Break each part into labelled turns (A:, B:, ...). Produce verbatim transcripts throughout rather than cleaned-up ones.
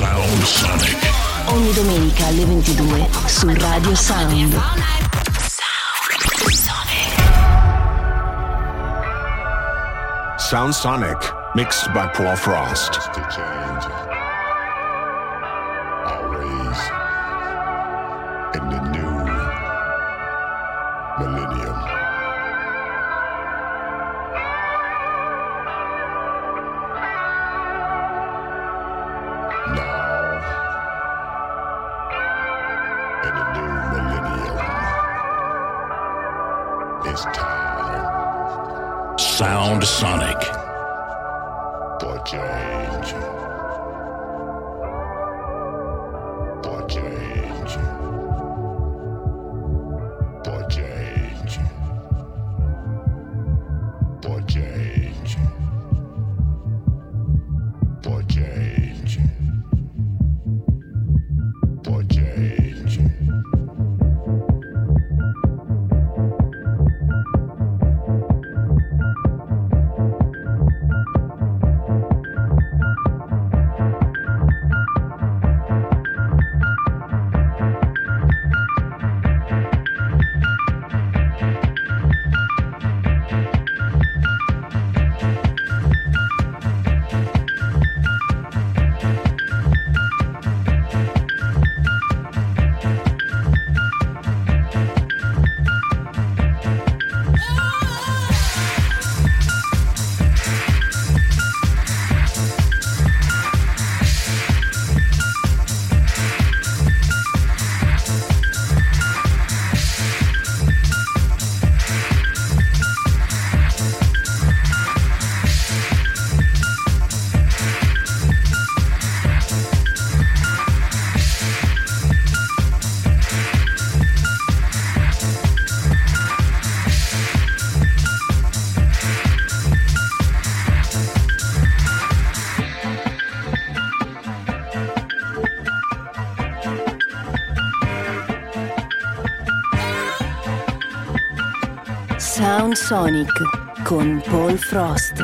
A: Sound Sonic.
B: Ogni domenica alle ventidue su Radio Sound.
C: Sound Sonic, mixed by Paul Frost.
D: To change our ways in the new millennium. Now, in the new millennium, it's time.
A: Sound Sonic.
D: For change. For change. For change. For change. For change. For change.
B: Sound Sonic con Paul Frost.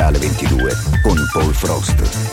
E: alle ventidue con Paul Frost.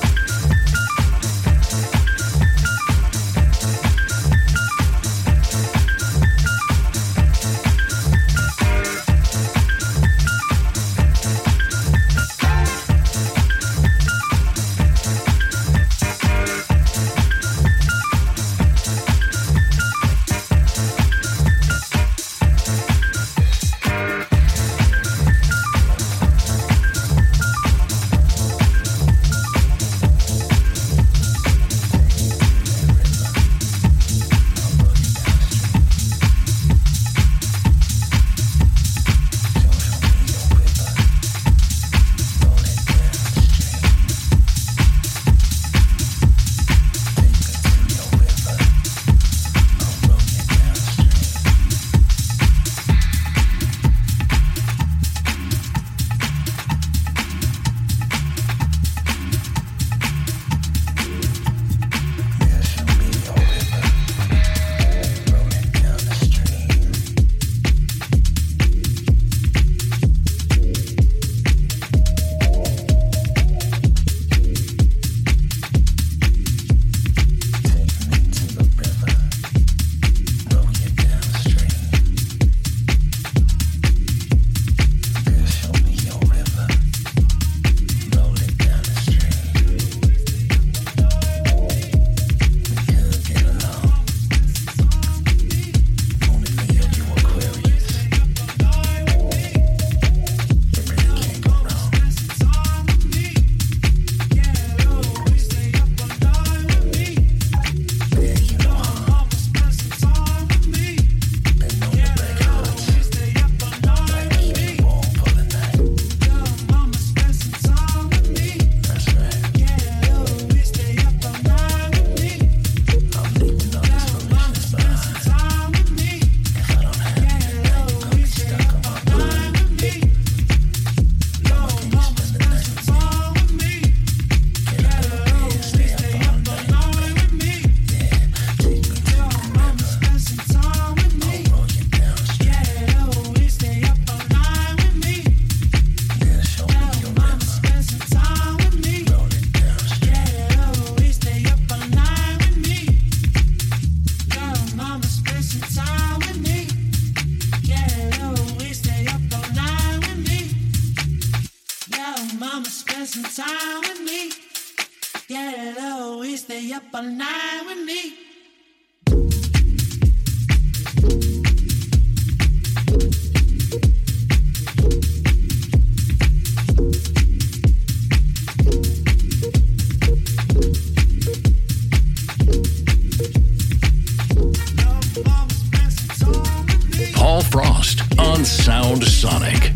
A: Paul Frost on Sound Sonic.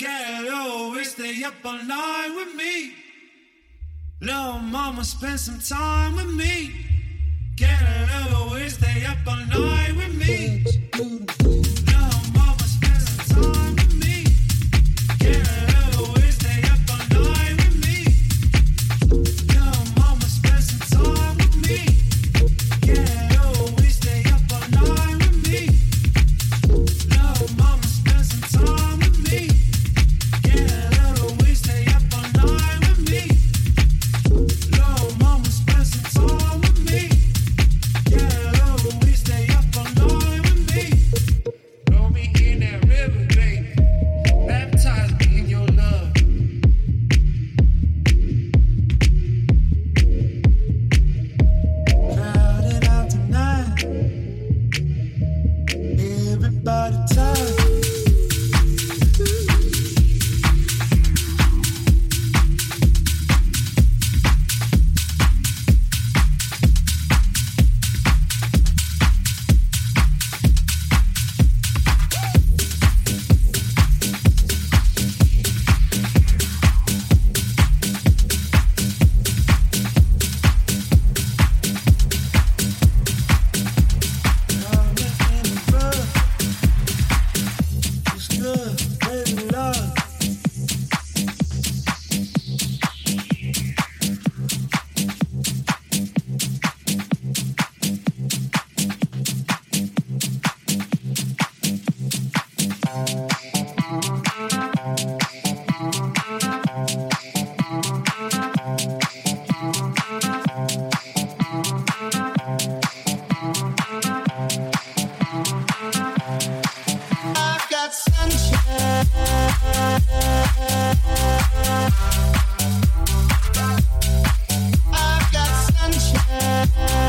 F: Get low, stay up all night with me. Little mama, spend some time with me. Get low, stay up all night with me. Little mama, spend some time with me. Get low, stay up all night with me. Little mama, spend some time with me. Get low, stay up all night with me. Little mama, spend some time with me. Get low, stay up all night with me. Little mama, spend some time with me. Get low, stay up all night with me. Throw me in that river, baby. Baptize me in your love. Crowded out tonight. Everybody tired. I've got sunshine. I've got sunshine.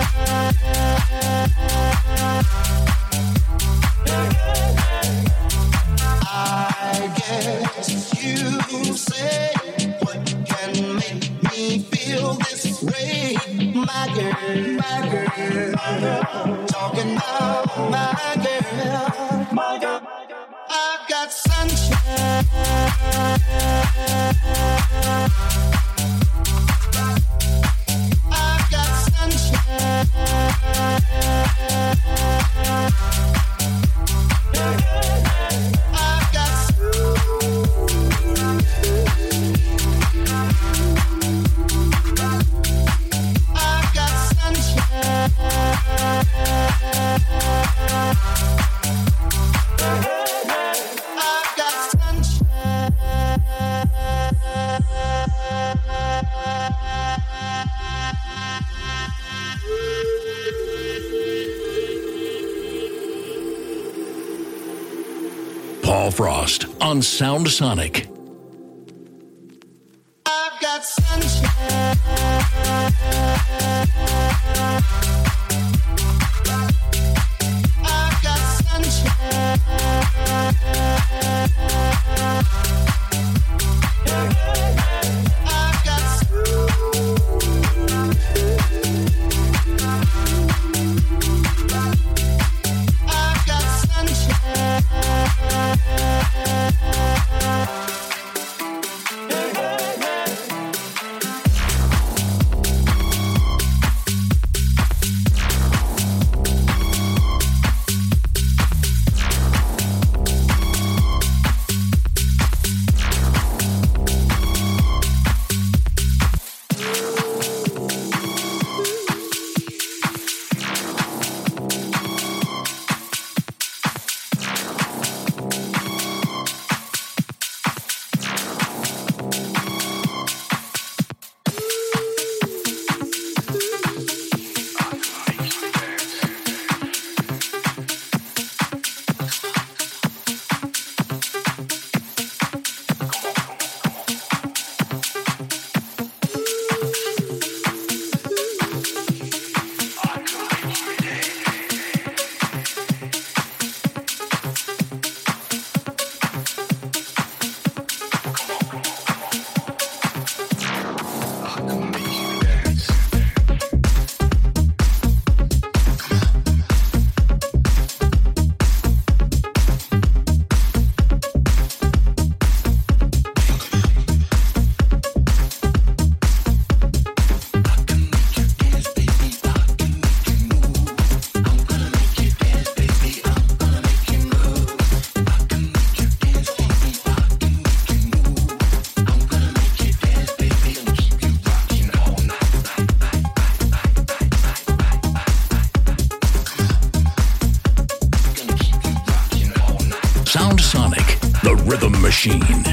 F: I guess you say what can make me feel this way, my girl, my girl, talking about my girl, my girl. I've got sunshine. I've got sunshine. I've got I've got sunshine. I've got sunshine.
A: Paul Frost on Sound Sonic.
F: I've got sunshine. I've got sunshine. I've got I've got sunshine.
A: Sound Sonic, the rhythm machine.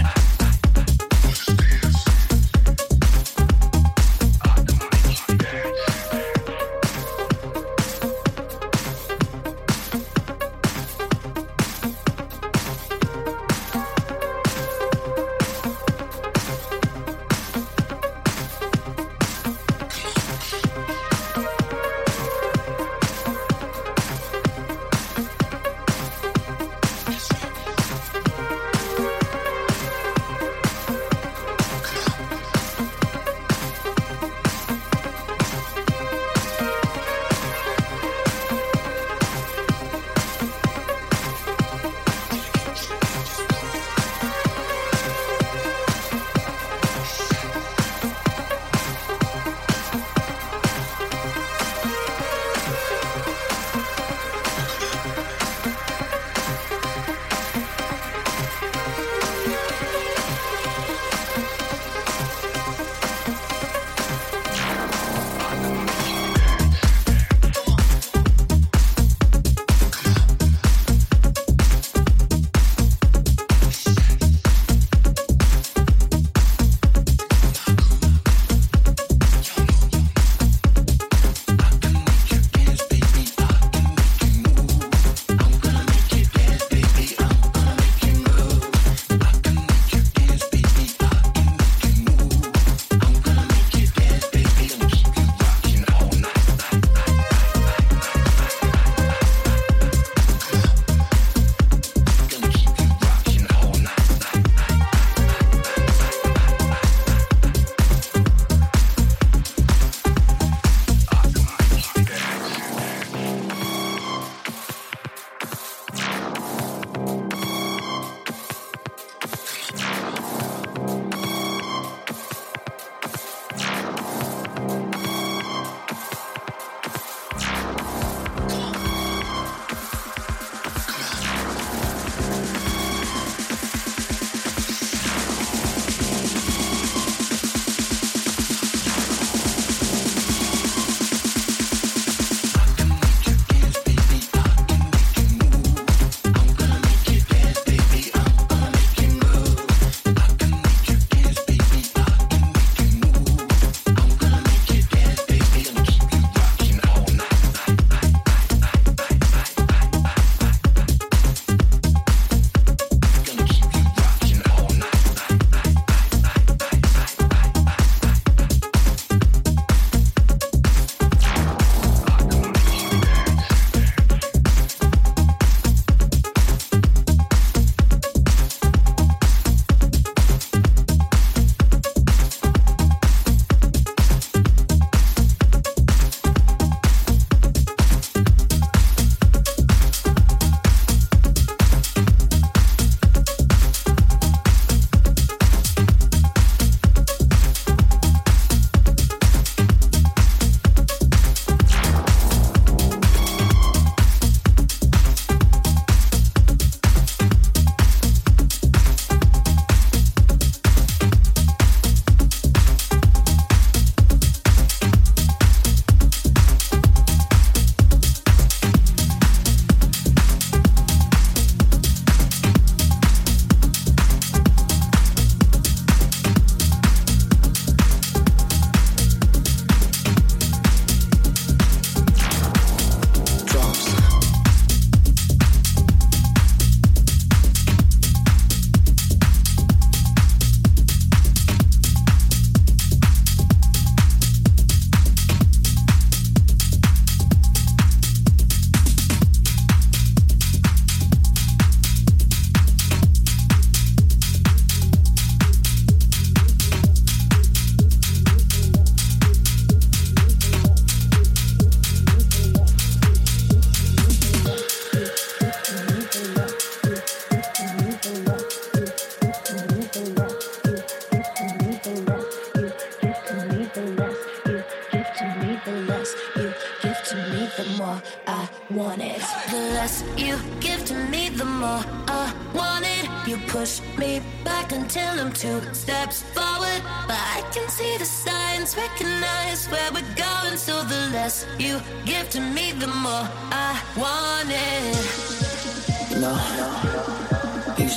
G: less you give to me, the more I want it. You push me back until I'm two steps forward, but I can see the signs, recognize where we're going. So the less you give to me, the more I want it.
H: No, no, no.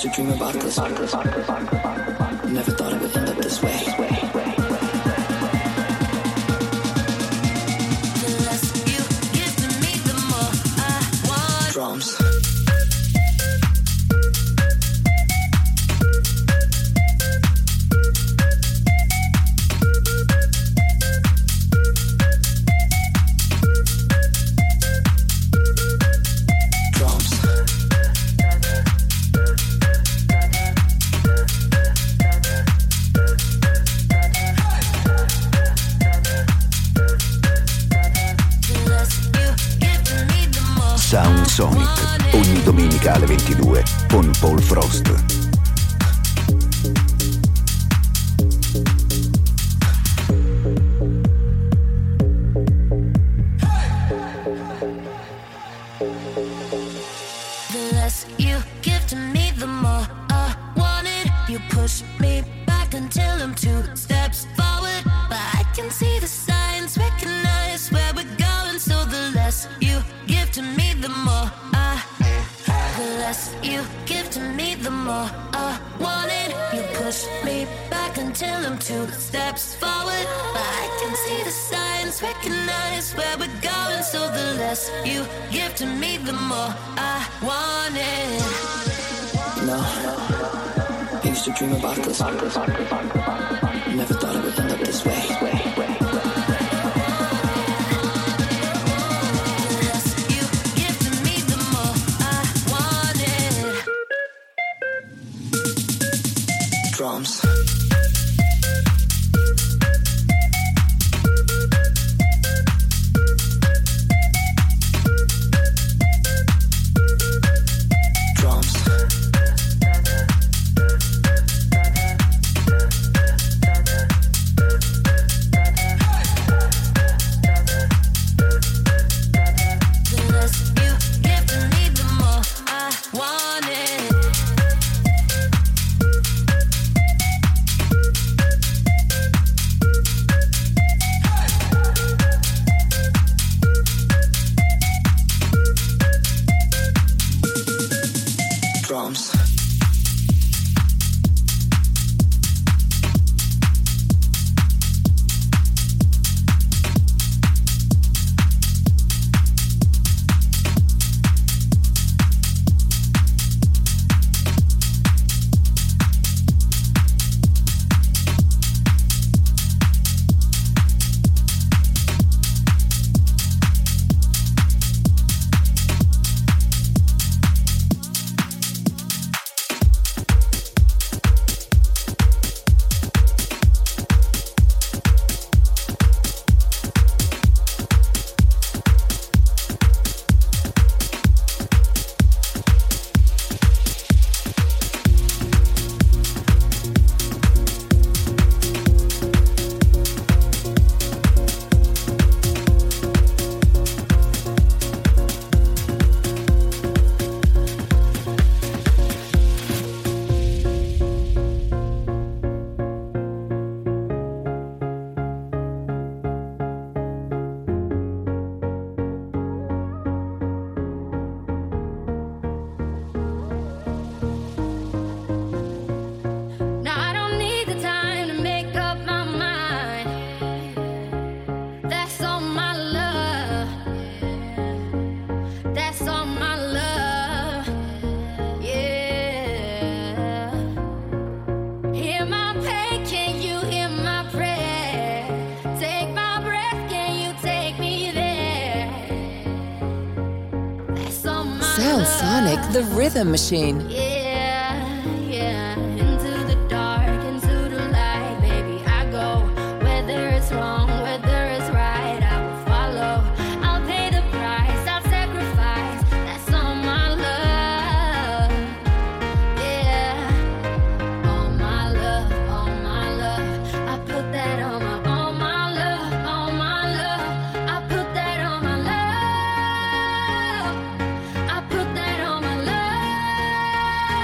H: used to dream about this. Never thought it would end up this way.
G: The less you give to me, the more I want.
H: Drums.
E: Sound Sonic, ogni domenica alle ventidue con Paul Frost.
G: The less you give to me, the more I want it. You push me back until I'm two steps forward, but I can see the signs, recognize where we're going. So the less you give to me, the more I, the less you give to me, the more I want it. You push me back until I'm two steps forward, but I can see the signs, recognize where we're going. So the less you give to me, the more I want it.
H: No, I used to dream about this. Never thought it would end up this way. Drums.
I: Sound Sonic, the rhythm machine.
G: Yeah, yeah. Into the dark, into the light, baby, I go. Whether it's wrong, whether it's right, I will follow. I'll pay the price, I'll sacrifice. That's all my love. Yeah. All my love, all my love. I put that on my, all my love, all my love. I put that on my love. I put that on my love.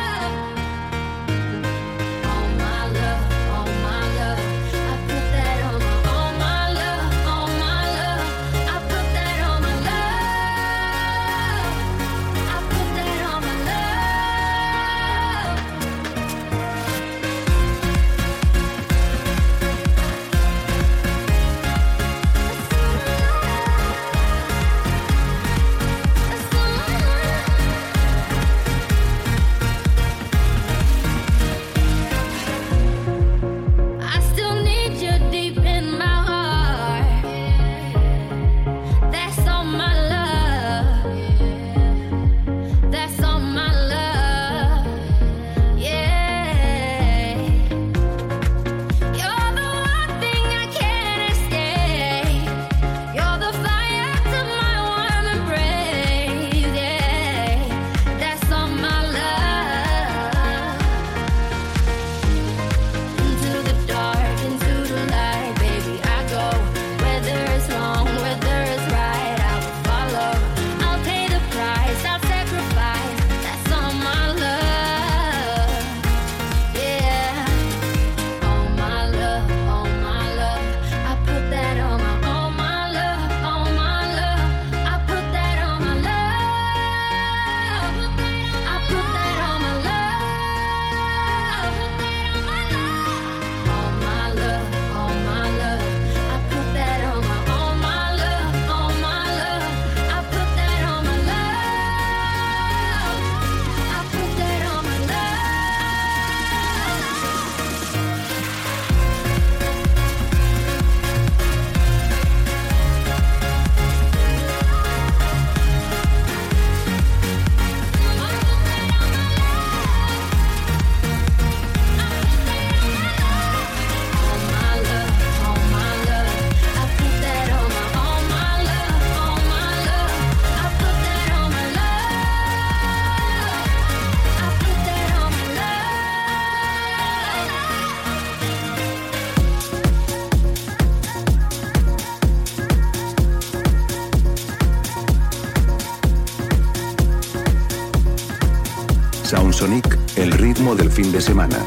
E: Sound Sonic, el ritmo del fin de semana.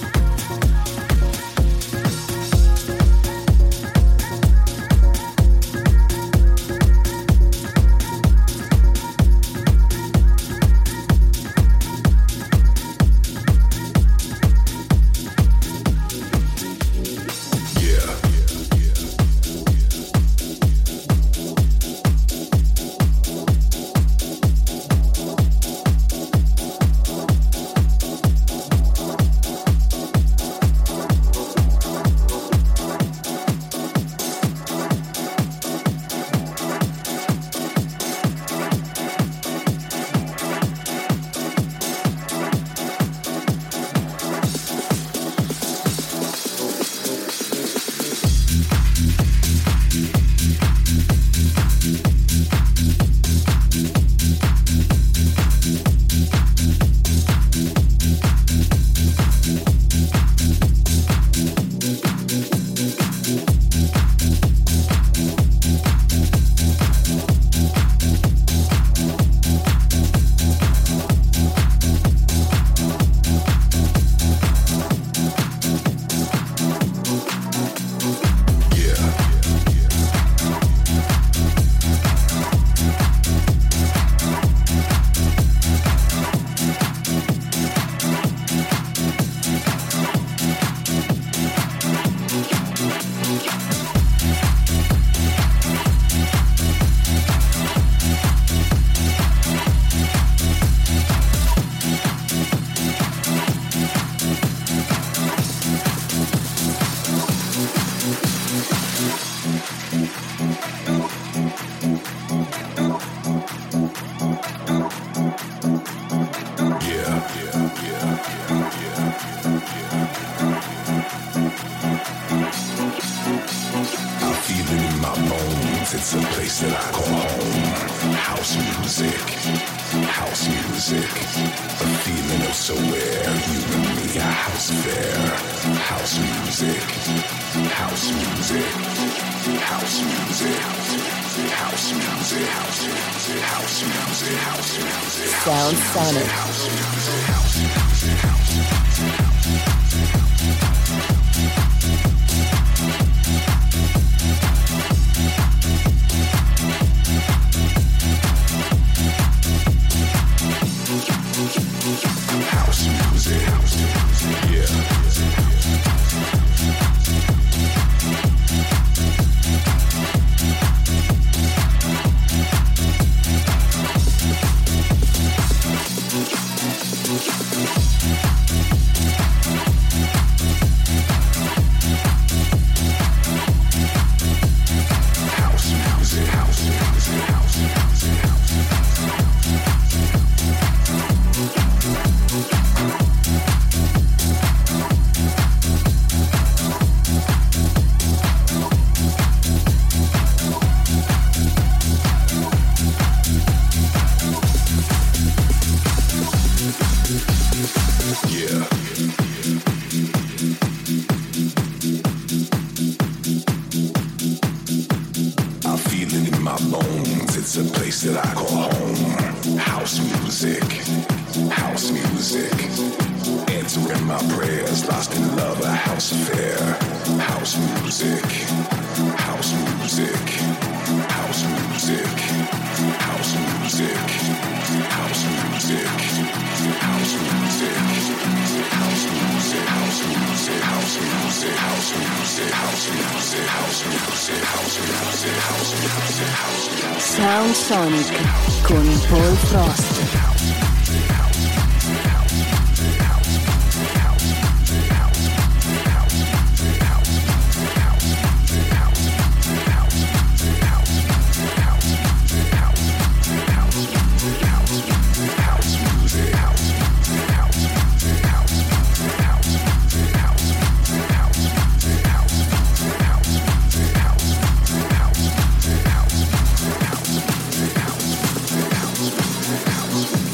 C: It's a place that I call home. House music, house music. A feeling of somewhere, you and me, a house fair. House music, house music, house music, house music, house music, house music, house music.
I: Sound Sonic.
C: House music, house music, house music, house music. House music, house music, yeah.
B: Sound Sonic con Paul Frost.
C: House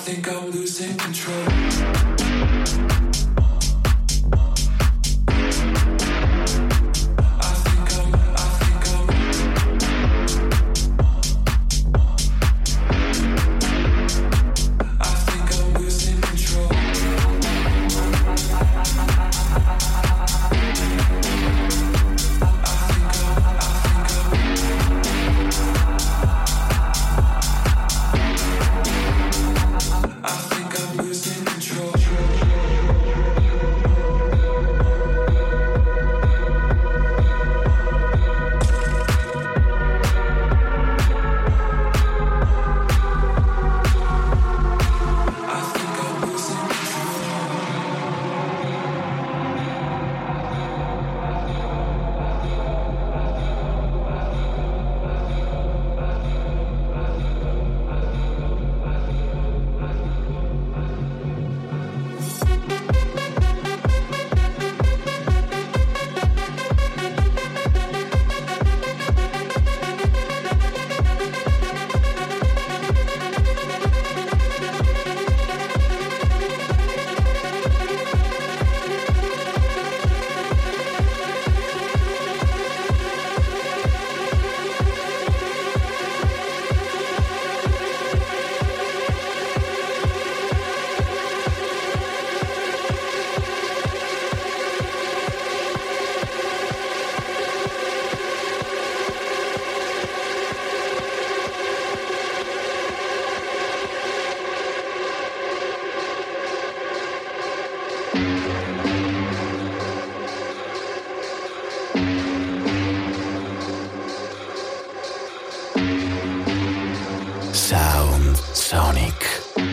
F: think I'm losing control.
A: Sound Sonic.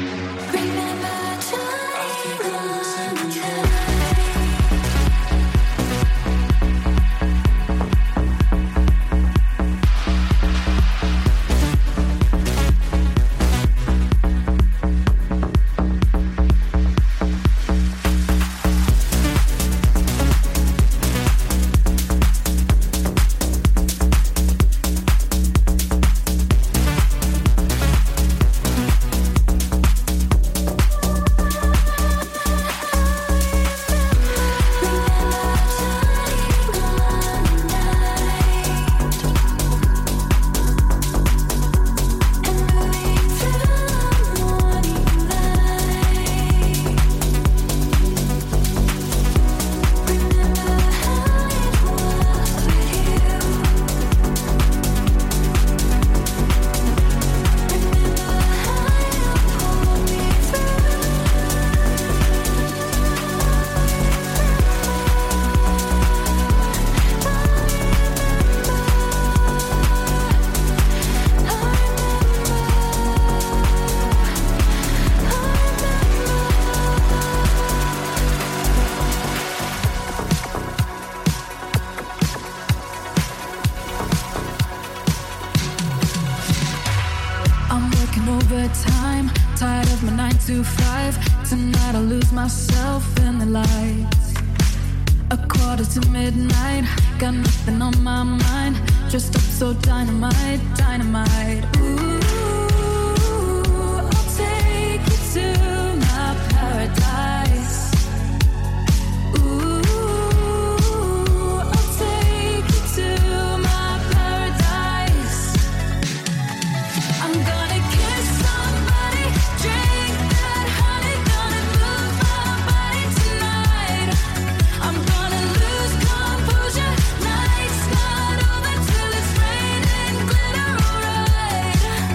J: overtime, tired of my nine to five. Tonight I'll lose myself in the lights. A quarter to midnight, got nothing on my mind. Dressed up so dynamite, dynamite. Ooh, I'll take you to my paradise. Ooh, I'll take you to my paradise. I'm gonna kiss somebody, drink that honey, gonna move my body tonight. I'm gonna lose composure, night's not over till it's raining glitter, alright.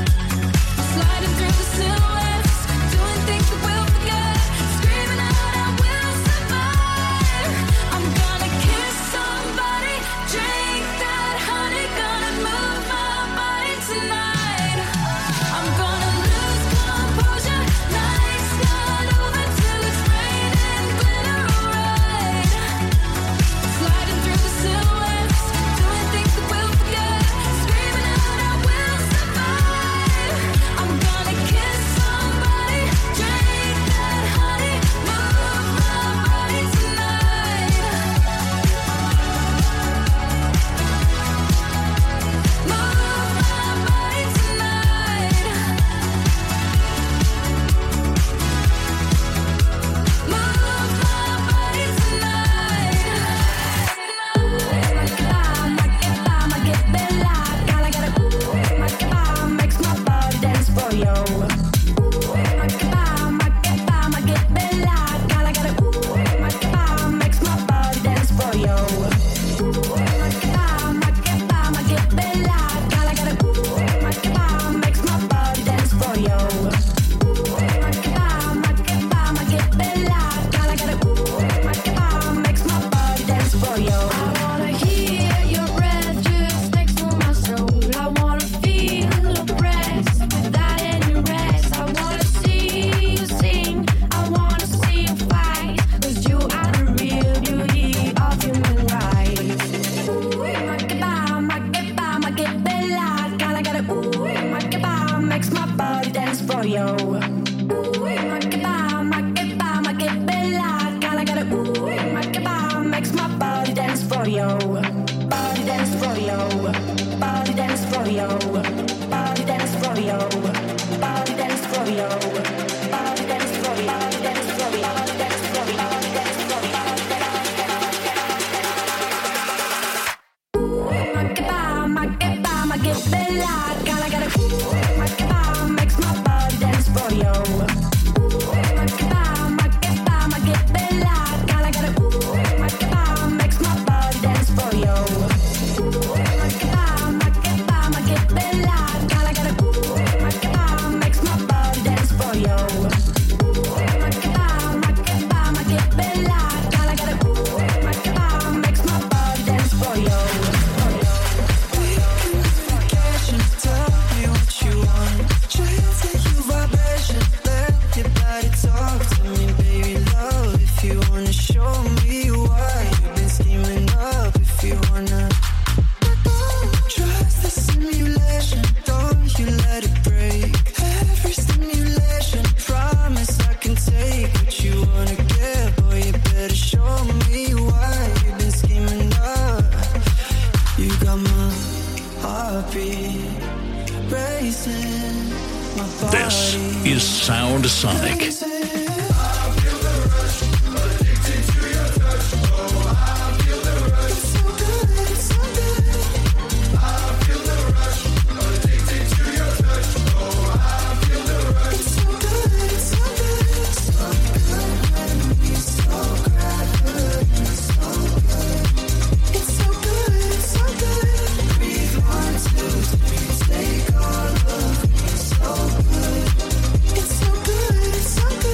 A: This is Sound Sonic.
K: It's so good, it's so good.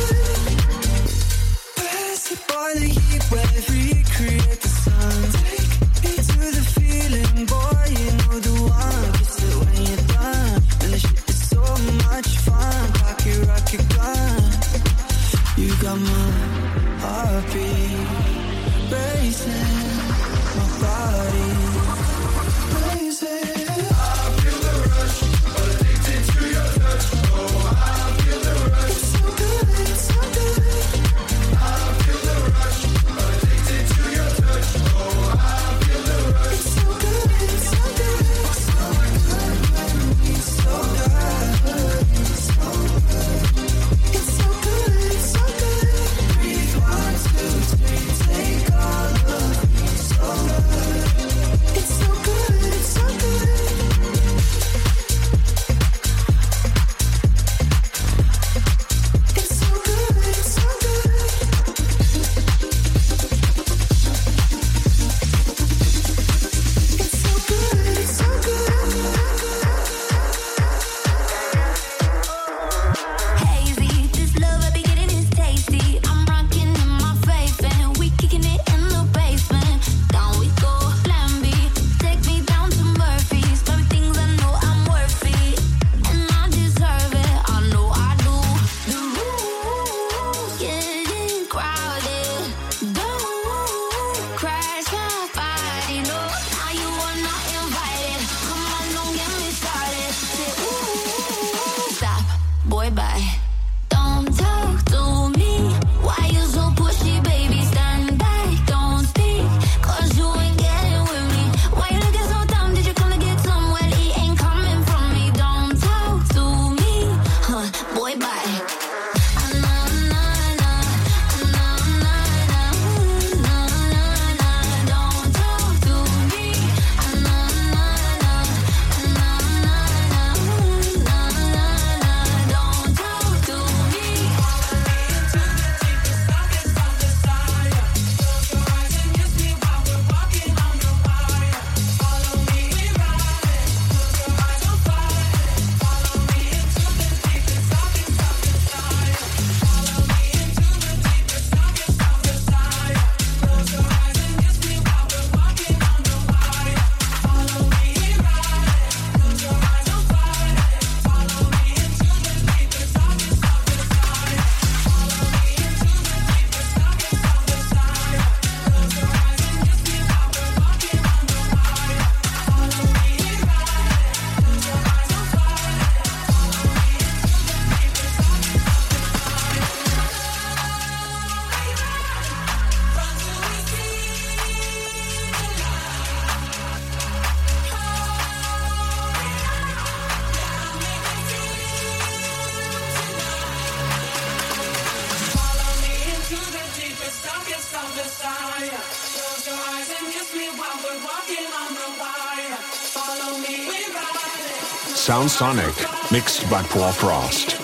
D: Sound Sonic, mixed by Paul Frost.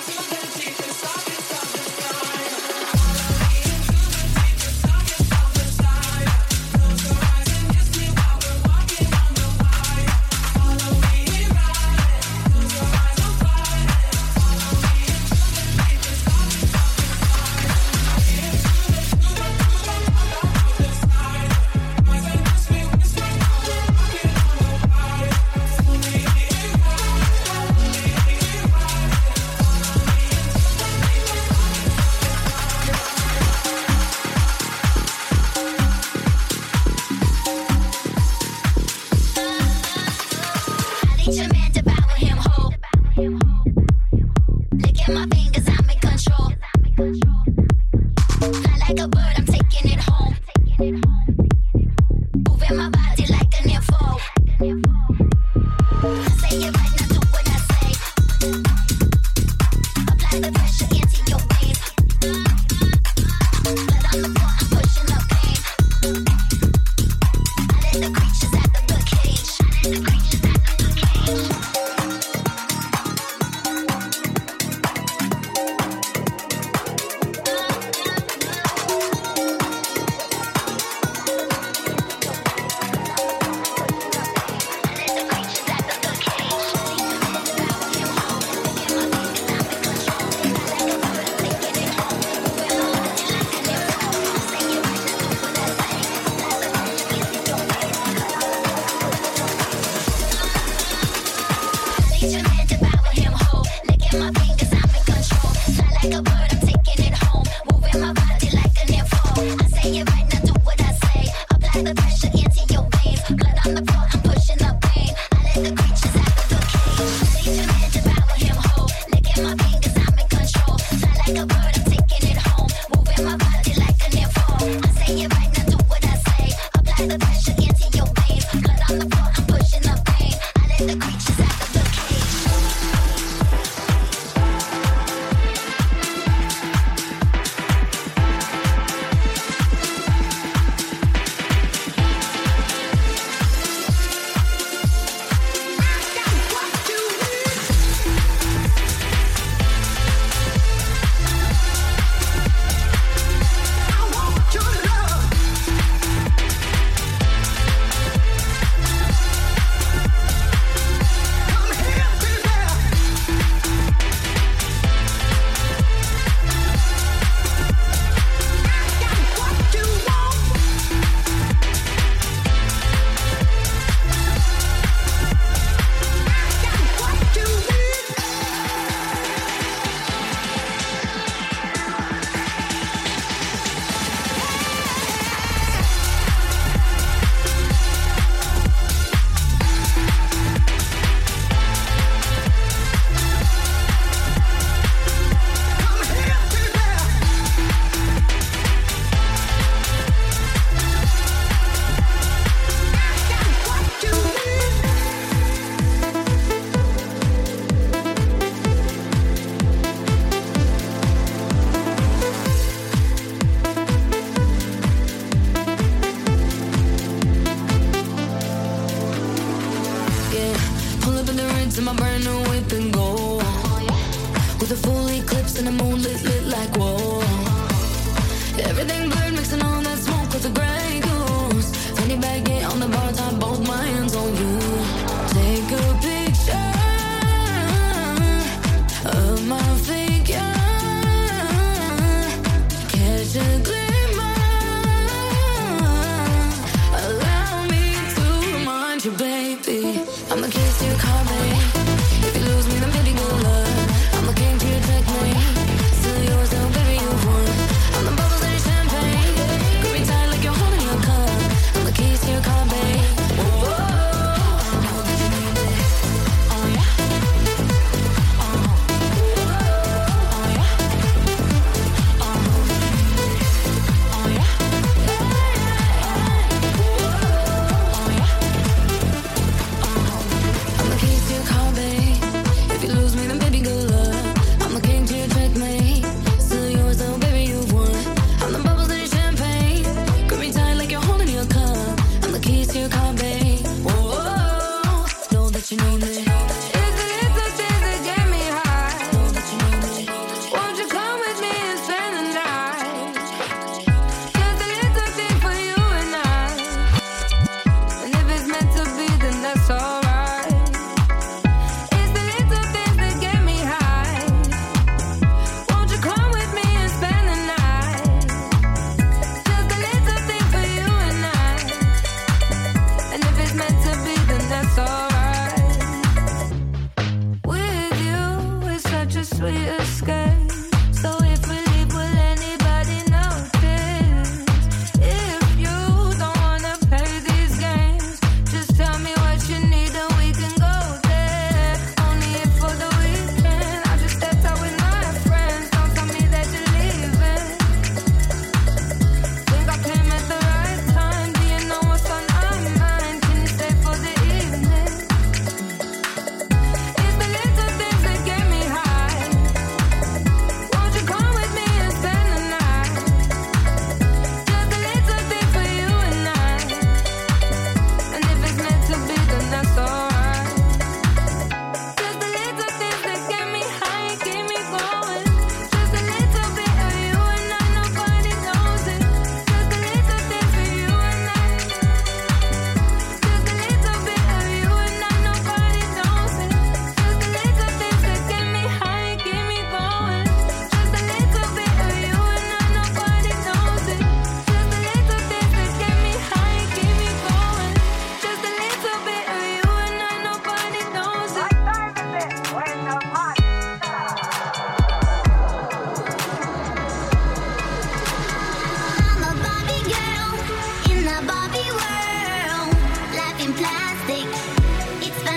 J: If you lose me, then baby, good luck. I'm looking to protect me. Still yours, though, baby,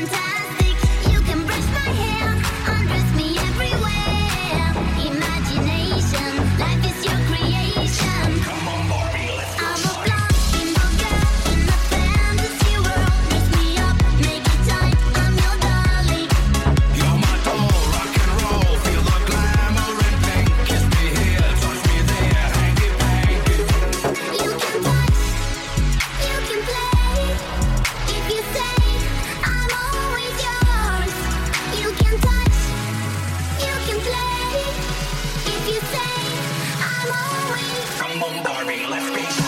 G: fantastic. You can brush my hair, undress me everywhere. Imagination, life is your creation. Come on, Barbie, let's go. I'm a blonde single girl in a fantasy world. Dress me up, make it tight, I'm your darling.
C: You're my doll, rock and roll, feel the glamour and pink. Kiss me here, touch me there, hanky panky.
G: You can touch, you can play. If you say I'm always yours. You can touch, you can play. If you say I'm always.
C: Come on, Barbie, let's be happy.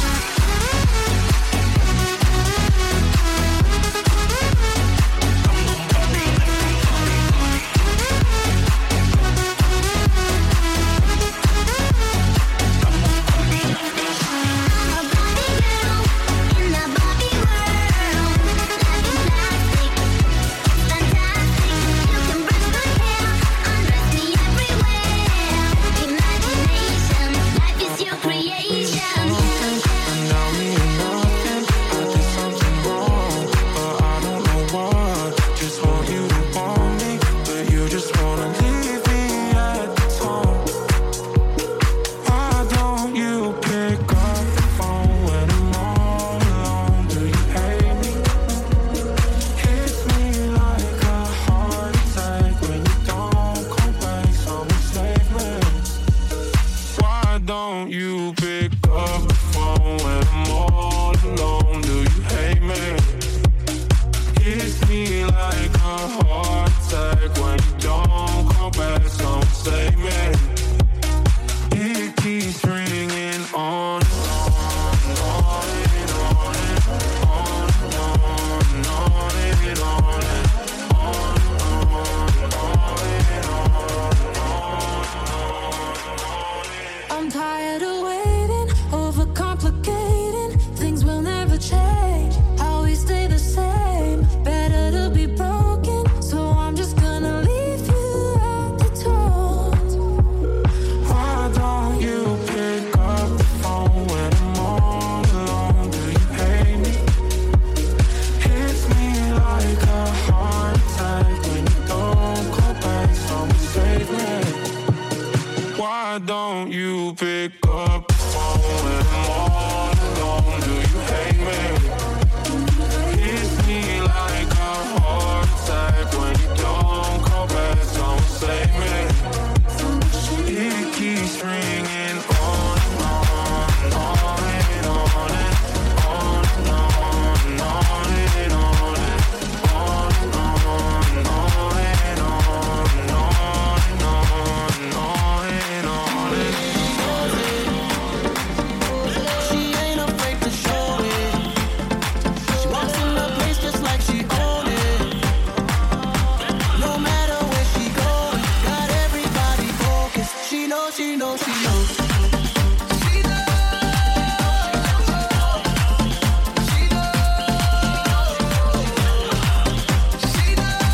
G: I'm a Barbie girl in the Barbie world. Life is plastic, fantastic. You can brush my hair, undress me everywhere. Imagination, life is your creation.
F: Now me and nothing, I did something wrong, but I don't know what. Just want you to want me, but you just wanna leave me at the tone. Why don't you pick up the phone when I'm all alone? Do you hate me? Hits me like a heart attack when you don't come back. So enslavement. Why don't you pick up the phone when I'm all alone? Do you hate me? Hits me like a heart attack when you don't come back. So save me. It keeps ringing on and on and on and on and on and on and on and on and on.
J: I'm tired of waiting, overcomplicating. Things will never change. How we stay the same. Better to be broken. So I'm just gonna leave you at the door.
F: Why don't you pick up the phone when I'm all alone? Do you hate me? Hits me like a heart attack when you don't call back. Someone save me. Why don't you pick up the phone when I'm all alone? Do you hate me? Hits me like a heart attack when you don't call back. Someone save me. It keeps ringing on and on and on and on and on and on and on and on and on and on and on and on and on and on and on.
K: She ain't afraid to show it. She walks in the place just like she own it. No matter where she goes, got everybody focused. She knows, she knows, she knows. She knows. She knows. She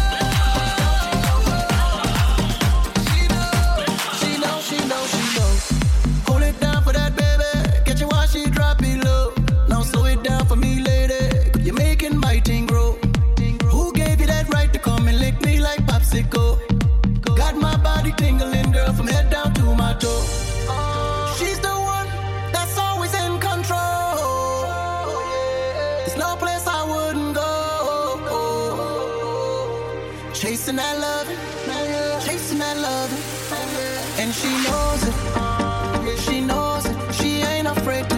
K: knows. She knows, she knows, she knows. Hold it down for that baby. Get you while she drop it low. Now slow it down for me, lady. You're making my thing grow. Who gave you that right to come and lick me like popsicle? Got my body tingling, girl, from head down to my toe. She's the one that's always in control. There's no place I wouldn't go. Chasing that love, chasing that love, and she knows it. She knows it. She ain't afraid to